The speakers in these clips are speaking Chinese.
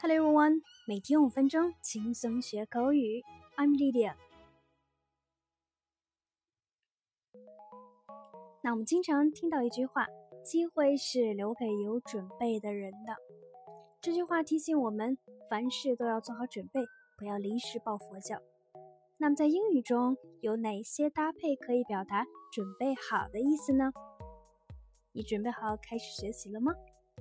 Hello everyone， 每天5分钟，轻松学口语。I'm Lydia。那我们经常听到一句话，机会是留给有准备的人的。这句话提醒我们，凡事都要做好准备，不要临时抱佛脚。那么在英语中有哪些搭配可以表达准备好的意思呢？你准备好开始学习了吗？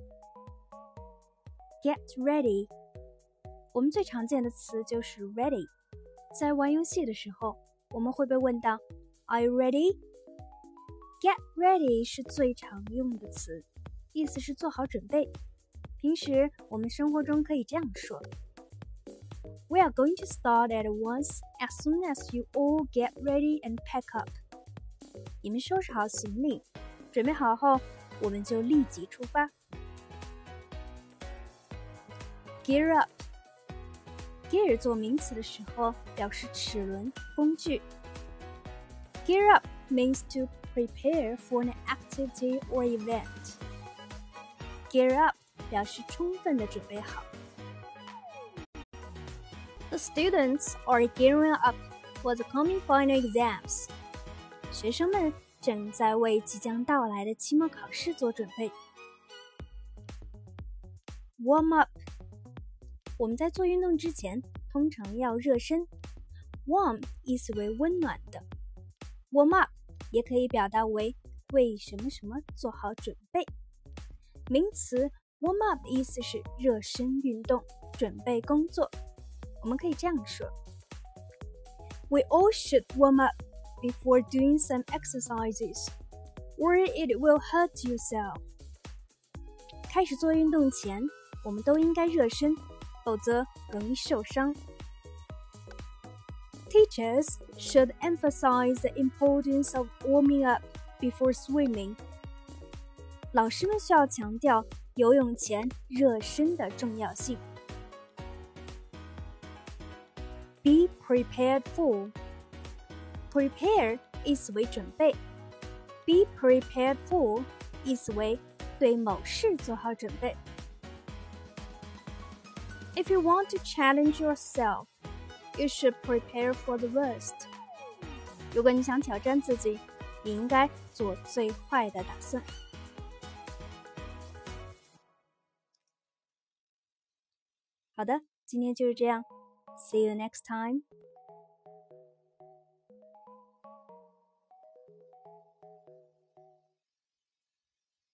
Get ready。 我们最常见的词就是 ready。 在玩游戏的时候，我们会被问到 Are you ready? Get ready 是最常用的词，意思是做好准备。平时我们生活中可以这样说 We are going to start at once as soon as you all get ready and pack up。 你们收拾好行李，准备好后，我们就立即出发。Gear up。 Gear 做名词的时候表示齿轮、工具。 Gear up means to prepare for an activity or event. Gear up 表示充分的准备好。 The students are gearing up for the coming final exams. 学生们正在为即将到来的期末考试做准备。Warm up。 我们在做运动之前通常要热身。 Warm 意思为温暖的。 Warm up 也可以表达为为什么什么做好准备。名词 warm up 意思是热身运动，准备工作。我们可以这样说 We all should warm up before doing some exercises, or it will hurt yourself. 开始做运动前，我们都应该热身，否则容易受伤。Teachers should emphasize the importance of warming up before swimming. 老师们需要强调游泳前热身的重要性。Be prepared for. Prepare 意思为准备。Be prepared for 意思为对某事做好准备。If you want to challenge yourself, you should prepare for the worst. 如果你想挑战自己，你应该做最坏的打算。好的，今天就是这样。See you next time.